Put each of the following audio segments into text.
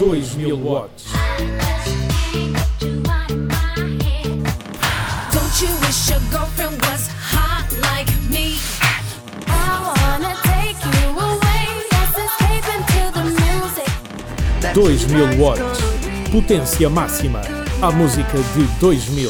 2000 watts. Don't you wish your girlfriend was hot like me? I wanna take you away. Let's escape into the music. 2000 watts. Potência máxima. A música de 2000.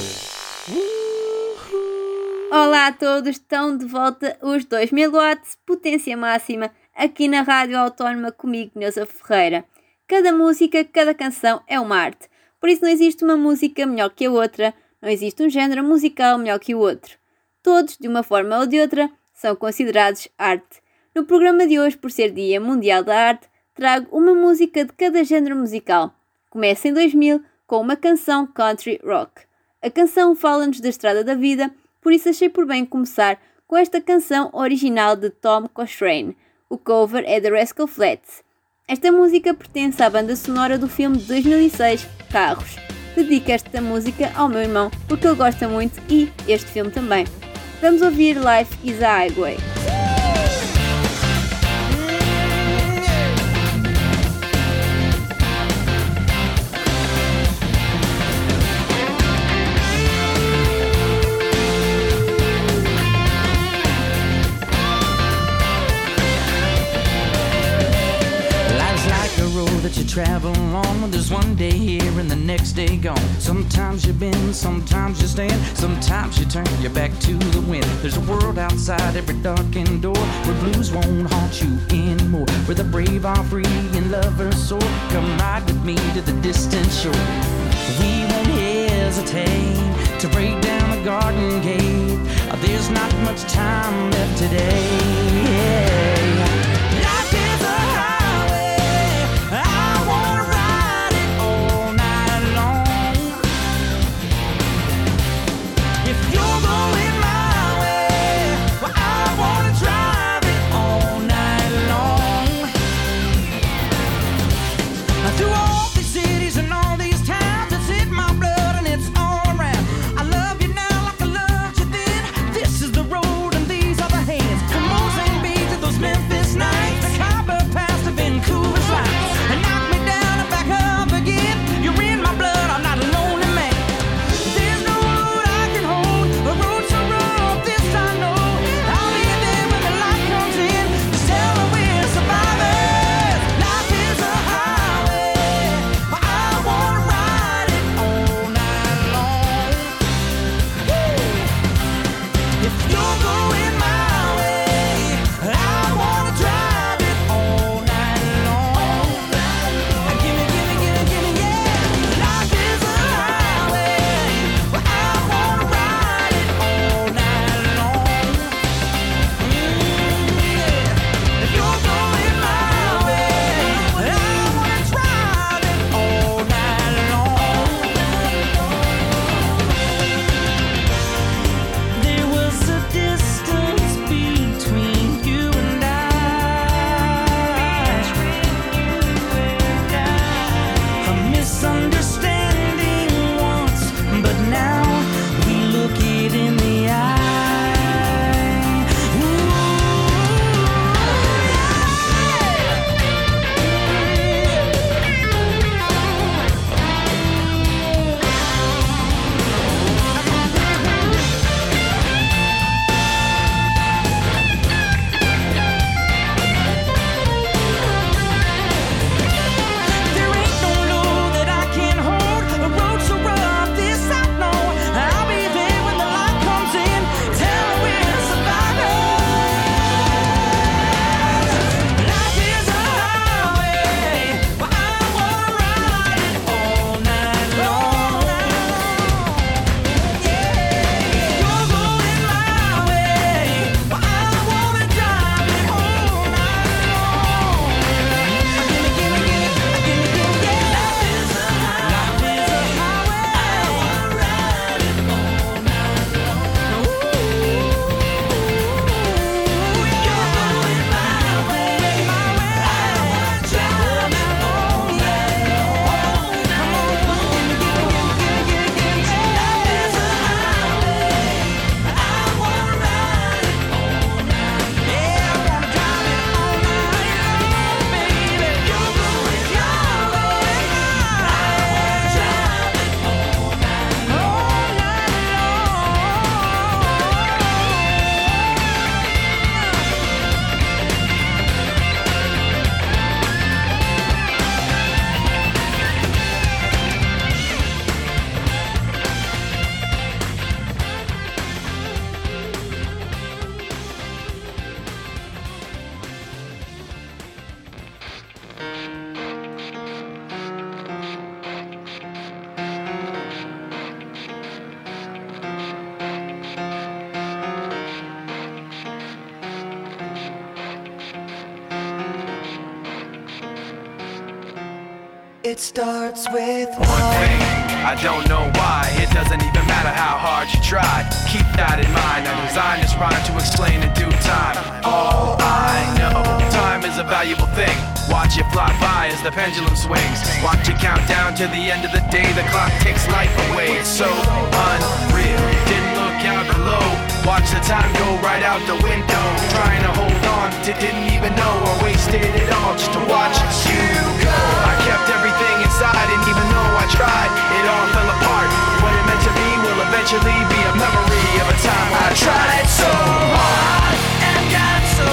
Olá a todos, estão de volta os 2000 watts, potência máxima, aqui na Rádio Autónoma comigo, Neuza Ferreira. Cada música, cada canção é uma arte, por isso não existe uma música melhor que a outra, não existe um género musical melhor que o outro. Todos, de uma forma ou de outra, são considerados arte. No programa de hoje, por ser Dia Mundial da Arte, trago uma música de cada género musical. Começa em 2000 com uma canção country rock. A canção fala-nos da estrada da vida, por isso achei por bem começar com esta canção original de Tom Cochrane. O cover é The Rascal Flatts. Esta música pertence à banda sonora do filme de 2006, Carros. Dedico esta música ao meu irmão porque ele gosta muito e este filme também. Vamos ouvir Life is a Highway. That you travel on, there's one day here and the next day gone. Sometimes you bend, sometimes you stand, sometimes you turn your back to the wind. There's a world outside every darkened door where blues won't haunt you anymore, where the brave are free and lovers soar. Come ride with me to the distant shore. We won't hesitate to break down the garden gate. There's not much time left today. Life is a highway, I wanna ride it all night long. If you're going my way, well, I wanna drive it all night long. Through all these cities and all these towns, it's in my blood and it's all around. I love you now like I loved you then. This is the road and these are the hands. Come on, St. Beat to the It starts with one thing, I don't know why. It doesn't even matter how hard you try. Keep that in mind. I designed this rhyme to explain in due time. All I know, time is a valuable thing. Watch it fly by as the pendulum swings. Watch it count down to the end of the day. The clock takes life away. It's so unreal. Didn't look out below. Watch the time go right out the window. Trying to hold on to didn't even know or wasted it all just to watch you go. I kept everything inside and even though I tried, it all fell apart. What it meant to be will eventually be a memory of a time when I tried so hard and got so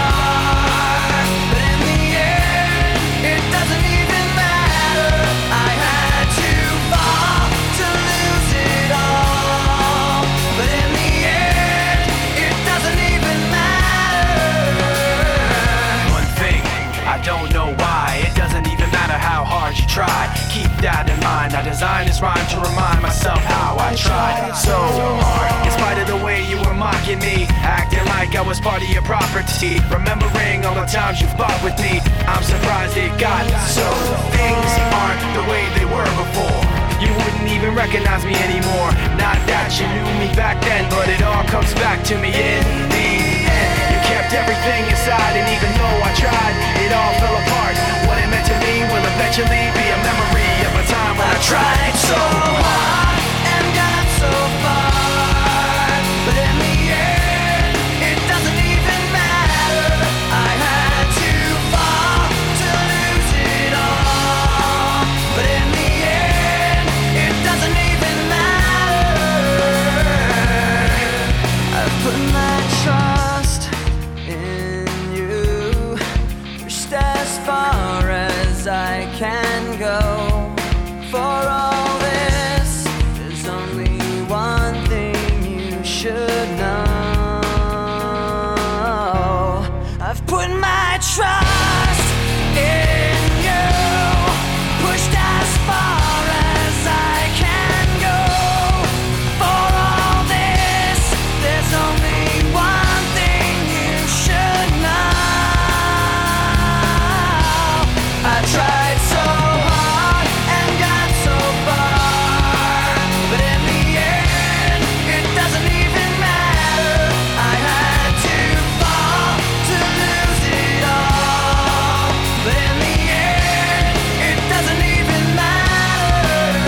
far. But in the end, it doesn't even matter. I had to fall to lose it all. But in the end, it doesn't even matter. One thing, I don't know why. It doesn't even matter how hard you try. Keep that in mind. I designed this rhyme to remind myself how I tried so hard. In spite of the way you were mocking me, acting like I was part of your property, remembering all the times you fought with me, I'm surprised it got so. Things aren't the way they were before. You wouldn't even recognize me anymore. Not that you knew me back then, but it all comes back to me in the end. You kept everything inside, and even though I tried, it all fell apart. What it meant to me will eventually be a memory of a time when I tried so hard and got so far. But in the end, it doesn't even matter. I had to fall to lose it all. But in the end, it doesn't even matter. I've put my trust in you, pushed as far as I can go. For all this, there's only one thing you should know. I've put my trust in you, pushed as far as I can go. For all this, there's only one thing you should know. I tried so hard and got so far, but in the end, it doesn't even matter. I had to fall to lose it all, but in the end, it doesn't even matter.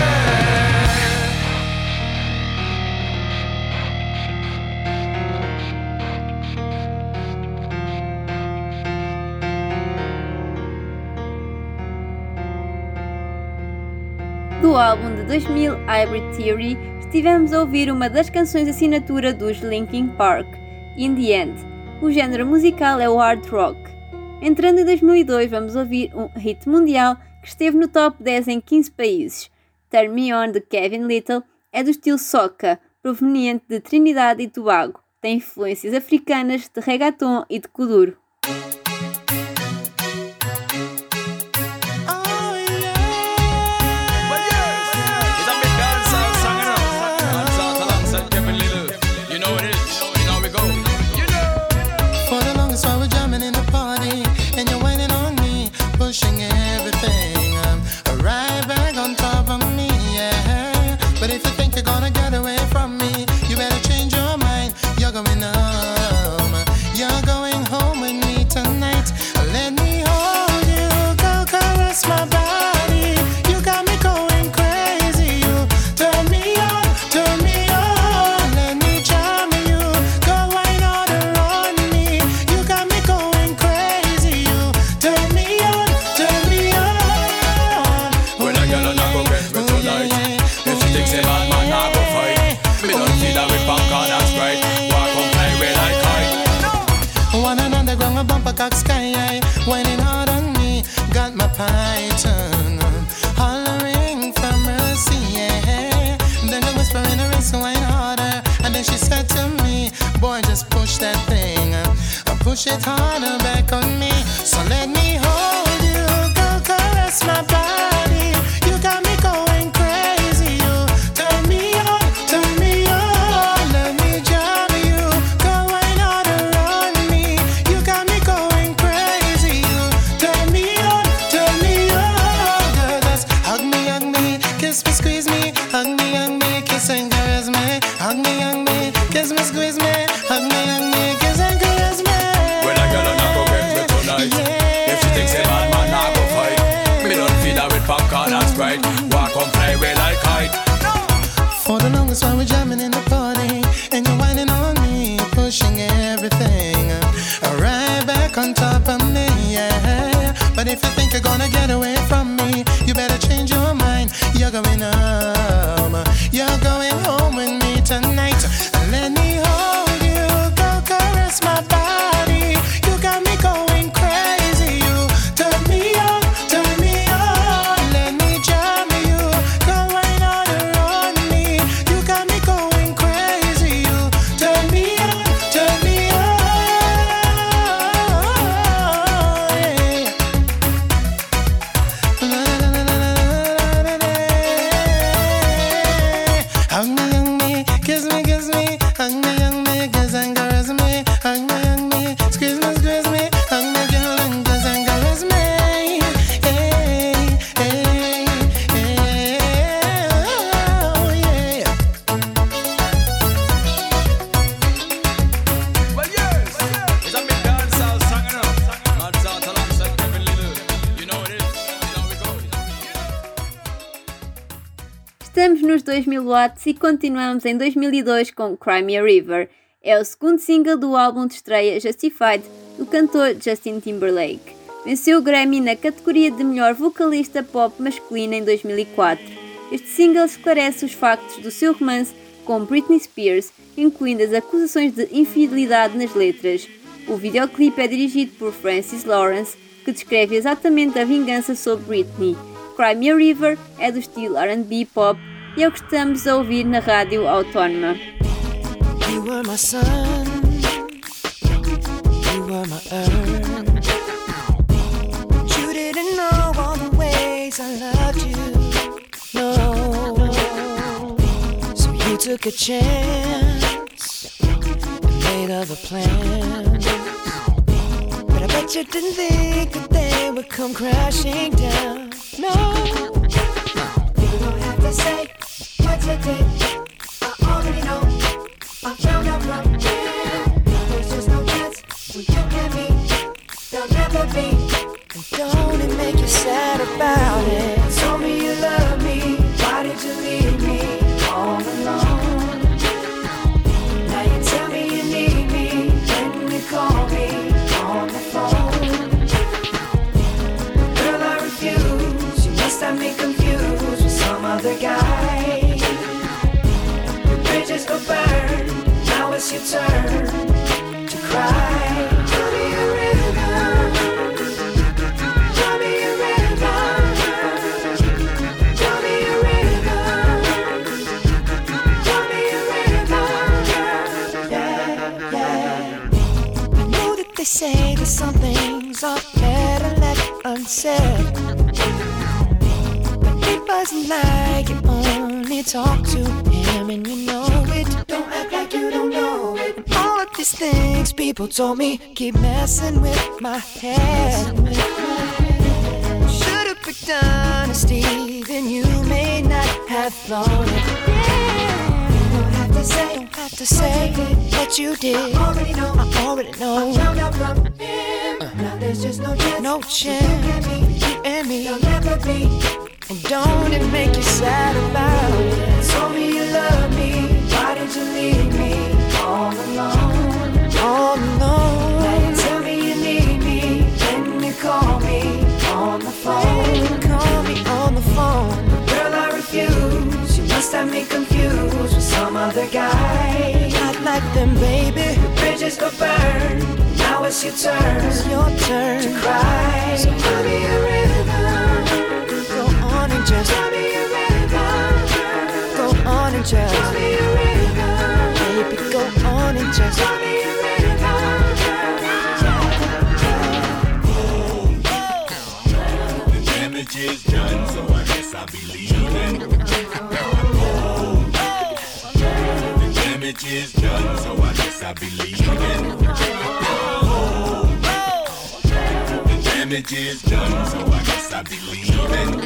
Do álbum de 2000 Hybrid Theory, estivemos a ouvir uma das canções assinatura dos Linkin Park, In The End. O género musical é o hard rock. Entrando em 2002, vamos ouvir um hit mundial que esteve no top 10 em 15 países. Turn Me On, de Kevin Little, é do estilo soca, proveniente de Trinidad e Tobago. Tem influências africanas, de reggaeton e de kuduro. For the longest while we're jamming in the party, and you're whining on me, pushing everything right back on top of me, yeah. But if you think you're gonna get away from me, you better change your mind. You're going home. You're going home with me tonight. Let me hold you, go caress my body. You got me going crazy. You turn me on, turn me on. Let me charm you, go wine all around me. You got me going crazy. You turn me on, turn me on. When a girl not go get me tonight, if she thinks a bad man not go fight, me don't see that with popcorn and Sprite. Walk on play with like kite. One another ground a bumper cock sky high, whining hard on me, got my python hollering for mercy, yeah. Then I whisper in her ear, so wine harder, and then she said to me, boy, just push that thing, push it harder back on me. So let me hold you, go caress my body. You got me going crazy. You turn me on, turn me on. Let me jam you, go wine all around me. You got me going crazy. You turn me on, turn me on. if you think you're gonna get away from me, you better change your mind. You're going home. You're going home with me tonight. Let me hold you, go caress my body. You got me going crazy. You turn me on, turn me on. Let me jam you, go right on around me. You got me going crazy. You turn me on, turn me on. Yeah. Hug me, kiss me, hug me, kiss and caress me, hug me, squeeze me, hug me, girl, and kiss and caress me. Hey, hey, hey, oh yeah. Well, yes, it's a big dancehall song, you know. Mads out alongside Kevin Lillard. You know what it is. You know we go. Estamos nos 2000 watts e continuamos em 2002 com Cry Me a River. É o segundo single do álbum de estreia Justified do cantor Justin Timberlake. Venceu o Grammy na categoria de melhor vocalista pop masculina em 2004. Este single esclarece os factos do seu romance com Britney Spears, incluindo as acusações de infidelidade nas letras. O videoclipe é dirigido por Francis Lawrence, que descreve exatamente a vingança sobre Britney. Cry Me a River é do estilo R&B pop e é o que estamos a ouvir na rádio autónoma. You were my sun, you were my earth. You didn't know all the ways I loved you, no. So you took a chance and made other plans. But I bet you didn't think that they would come crashing down, no. You don't have to say what you did, I already know. I found out from him. There's just no chance when you and me, there'll never be. And don't it make you sad about it? Told me you love me, why did you leave me all alone? Now you tell me you need me when you call me on the phone. Girl, I refuse, you must have me confused with some other guy. Bridges go burn, now it's your turn to cry. Draw me a river, draw me a river, draw me a river, draw me a river, yeah, yeah. I know that they say that some things are better left unsaid, but it wasn't like you only talk to him and you know it. Don't act like you don't know it. And all of these things people told me keep messing with my head. Should've picked honesty, then you may not have thought it. Yeah. Don't have to say what you did. I already know. I found out from him. Now there's just no chance. No chance. You and me. There'll never be. And don't it make you sad about it? Told me you love me, why did you leave me all alone? All alone. Now you tell me you need me, when you call me on the phone. Call me on the phone. Girl, I refuse, you must have me confused with some other guy. Not like them, baby. The bridges go burn, now it's your turn. It's your turn to cry. So cry me a river. And just tell me a river. Go on and just tell me a river. Baby, go on and just tell me a river. The damage is done, so I guess I'll be leaving. The damage is done, so I guess I'll be leaving. The damage is done, so I guess I'll be leaving.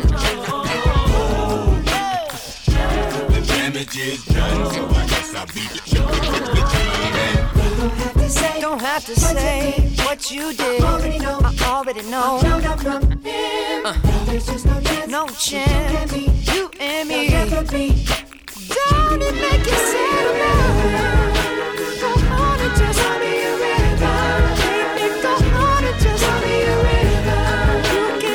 The damage is done, so I guess I'll be leaving. Don't have to say what you did. I already know. There's just no chance. You and me. Don't it make you sad about it? Go on and just tell me a river. Baby, go on and just tell me a river. You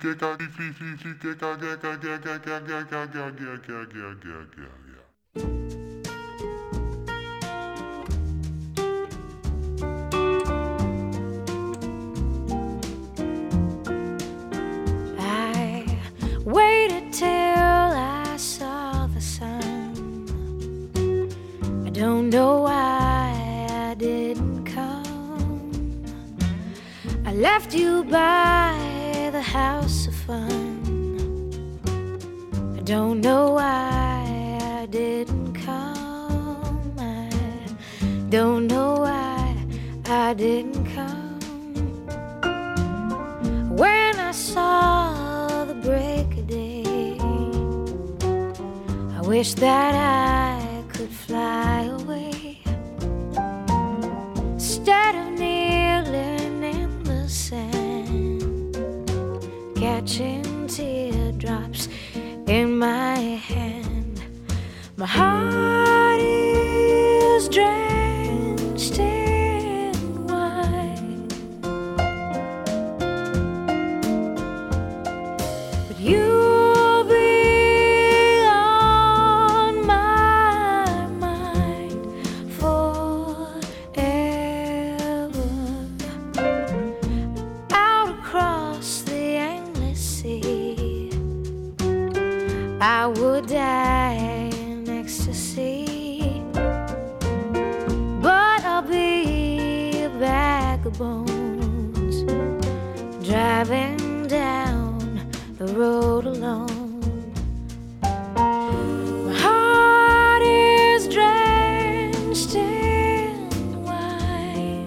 I waited till I saw the sun. I don't know why I didn't come. I left you by the house of fun. I don't know why I didn't come. I don't know why I didn't come. When I saw the break of day, I wish that I could fly away instead of kneeling in the sand, catching teardrops in my hand. My heart is drenched in wine, but you'll be on my mind forever. Out across the endless sea, I would die in ecstasy, but I'll be a bag of bones, driving down the road alone. My heart is drenched in wine,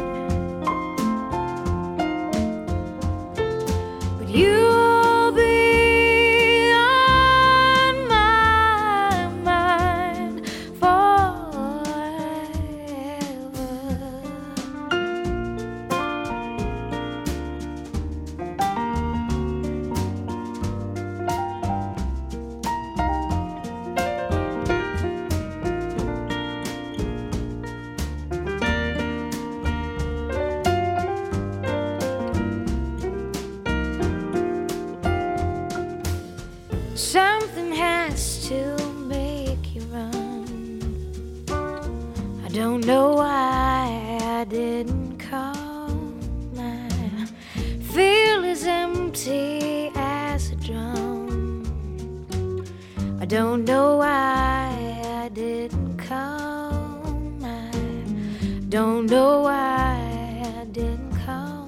but you'll be on my mind forever. Something has to make you run. I don't know why I didn't come. I feel as empty as a drum. I don't know why I didn't come. I don't know why I didn't come.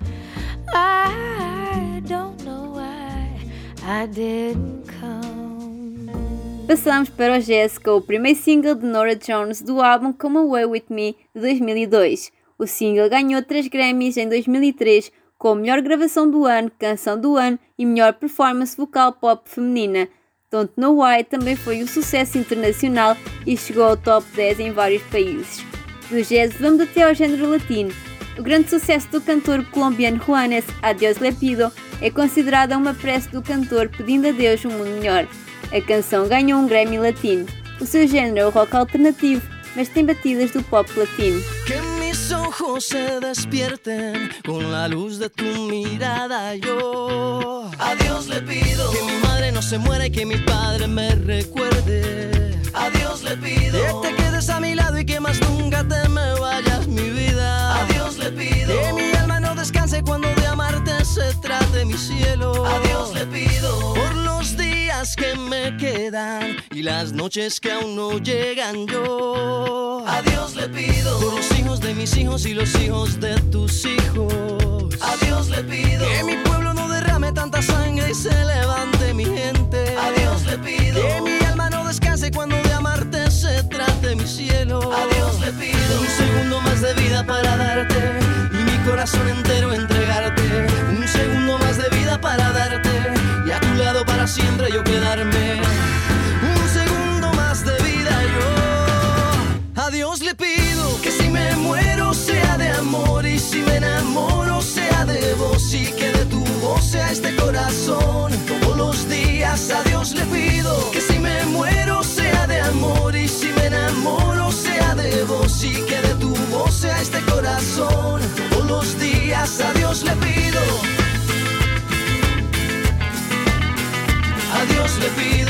I don't know why I didn't come. Passamos para o jazz com o primeiro single de Norah Jones do álbum Come Away With Me de 2002. O single ganhou 3 Grammys em 2003 com a melhor gravação do ano, canção do ano e melhor performance vocal pop feminina. Don't Know Why também foi um sucesso internacional e chegou ao top 10 em vários países. Do jazz vamos até ao género latino. O grande sucesso do cantor colombiano Juanes, Adiós Le Pido, é considerada uma prece do cantor pedindo a Deus um mundo melhor. A canção ganhou um Grammy latino. O seu género é o rock alternativo, mas tem batidas do pop latino. Que mis ojos se despierten con la luz de tu mirada. Yo a Dios le pido que mi madre no se muera y que mi padre me recuerde. A Dios le pido que te quedes a mi lado y que más nunca te me vayas, mi vida. A Dios le pido que mi alma no descanse cuando de amarte se trate, mi cielo. A Dios le pido por los días que me quedan y las noches que aún no llegan. Yo a Dios le pido por los hijos de mis hijos y los hijos de tus hijos. A Dios le pido que mi pueblo no derrame tanta sangre y se levante mi gente. A Dios le pido que mi alma no descanse cuando de amarte se trate, mi cielo. A Dios le pido un segundo más de vida para darte y mi corazón entero entregarte. Un segundo más de vida para darte y a tu lado para siempre yo quedarme. Un segundo más de vida yo. A Dios le pido que si me muero sea de amor y si me enamoro sea de vos y que de tu voz sea este corazón. Todos los días a Dios le pido que si me muero sea de amor y si me enamoro sea de vos y que de tu voz sea este corazón. Todos los días a Dios le pido. le pido.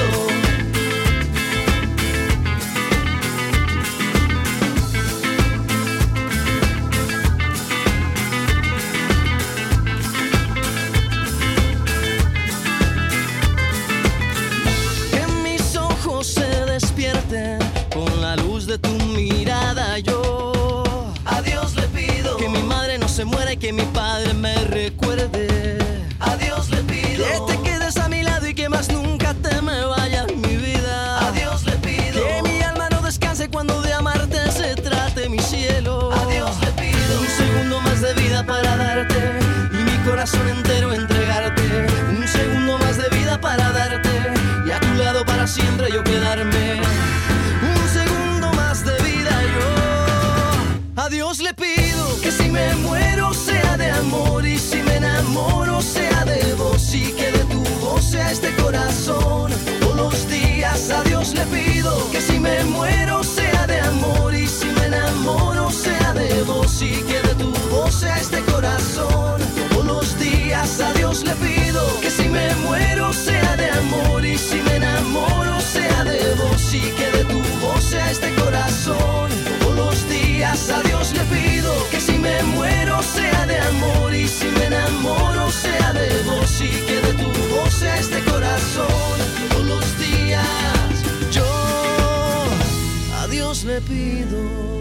Que mis ojos se despierten con la luz de tu mirada. Yo a Dios le pido que mi madre no se muera y que mi padre me recuerde. A Dios le pido que te quedes a mi lado y que más nunca te me vayas, mi vida. A Dios le pido que mi alma no descanse cuando de amarte se trate, mi cielo. A Dios le pido un segundo más de vida para darte y mi corazón entero entregarte. Un segundo más de vida para darte y a tu lado para siempre yo quedarme. Un segundo más de vida yo a Dios le pido que si me muero sea de amor y si me enamoro sea de vos y que de tu voz sea este corazón todos los días. A Dios le pido que si me muero sea de amor y si me enamoro sea de vos y que de tu voz sea este corazón todos los días. A Dios le pido que si me muero sea de amor y si me enamoro sea de vos y que de tu voz sea este corazón todos los días. A Dios le pido que si me muero sea de amor y si me enamoro sea de vos y que de tu voz sea este corazón todos los días. Yo a Dios le pido.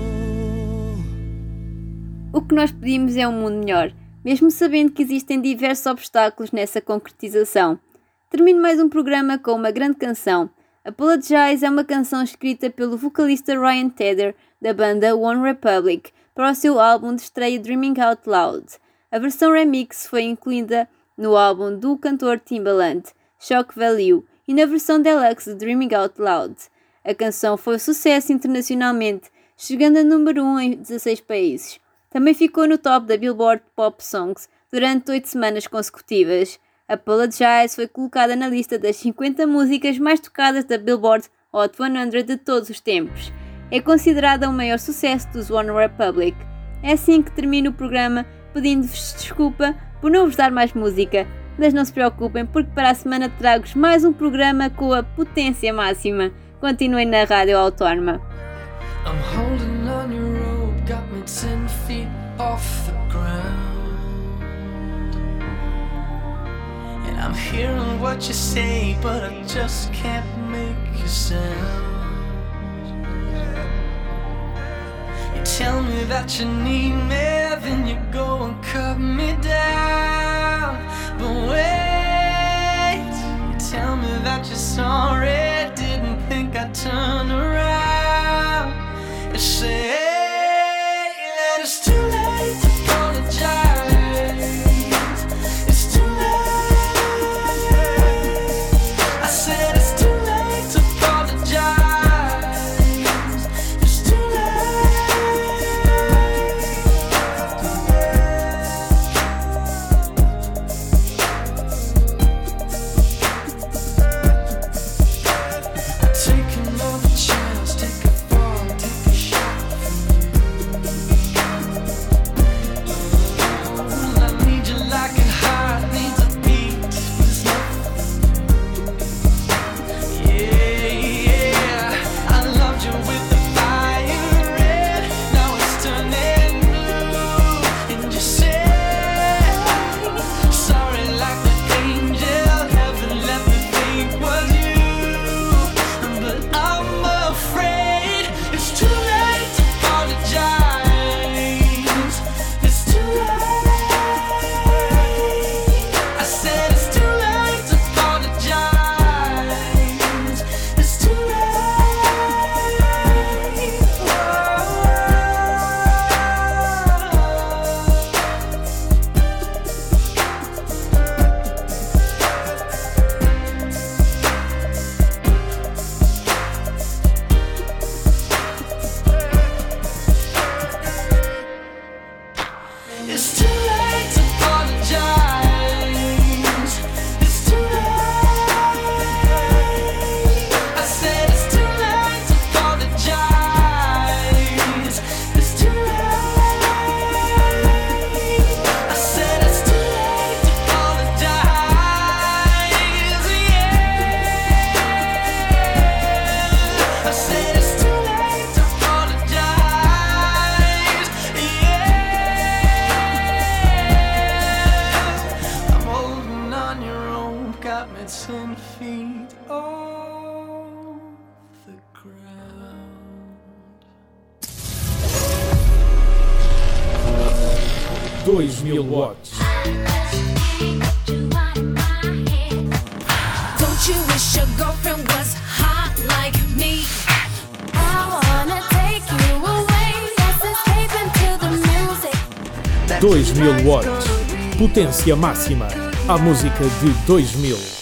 O que nós pedimos é um mundo melhor, mesmo sabendo que existem diversos obstáculos nessa concretização. Termino mais um programa com uma grande canção. Apologize é uma canção escrita pelo vocalista Ryan Tedder, da banda One Republic, para o seu álbum de estreia Dreaming Out Loud. A versão remix foi incluída no álbum do cantor Timbaland, Shock Value, e na versão deluxe de Dreaming Out Loud. A canção foi um sucesso internacionalmente, chegando a número 1 em 16 países. Também ficou no top da Billboard Pop Songs durante 8 semanas consecutivas. Apologize foi colocada na lista das 50 músicas mais tocadas da Billboard Hot 100 de todos os tempos. É considerada o maior sucesso dos One Republic. É assim que termino o programa, pedindo-vos desculpa por não vos dar mais música, mas não se preocupem porque para a semana trago-vos mais um programa com a potência máxima. Continuem na Rádio Autónoma. I'm holding on your rope, got me 10 feet off the ground. And I'm hearing what you say, but I just can't make a sound. You tell me that you need me, then you go and cut me down. But wait, you tell me that you're sorry, didn't think I'd turn around. You say that it's too late to apologize. It's too late. I said it's too late to apologize. It's too late. got me 10 feet off the ground. 2000 watts. Don't you wish your girlfriend was hot like me? I wanna take you away. Let's escape into the music. 2000 watts. Potência máxima. A música de 2000.